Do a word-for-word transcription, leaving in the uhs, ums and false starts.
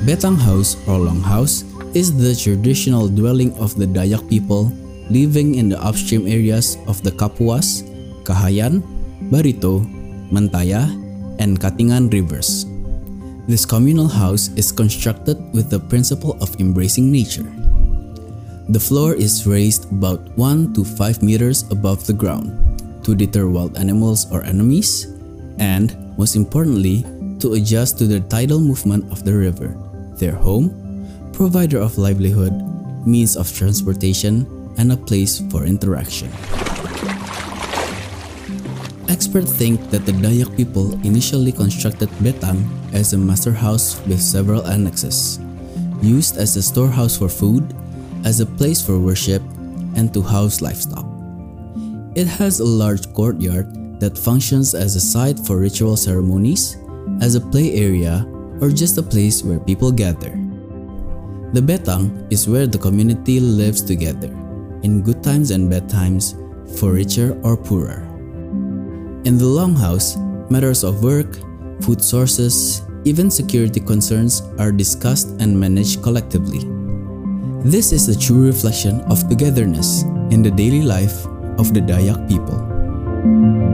Betang House or Longhouse is the traditional dwelling of the Dayak people living in the upstream areas of the Kapuas, Kahayan, Barito, Mentaya, and Katingan rivers. This communal house is constructed with the principle of embracing nature. The floor is raised about one to five meters above the ground to deter wild animals or enemies, and, most importantly, to adjust to the tidal movement of the river, their home, provider of livelihood, means of transportation, and a place for interaction. Experts think that the Dayak people initially constructed Betang as a master house with several annexes, used as a storehouse for food, as a place for worship, and to house livestock. It has a large courtyard that functions as a site for ritual ceremonies, as a play area, or just a place where people gather. The Betang is where the community lives together, in good times and bad times, for richer or poorer. In the Longhouse, matters of work, food sources, even security concerns are discussed and managed collectively. This is a true reflection of togetherness in the daily life of the Dayak people.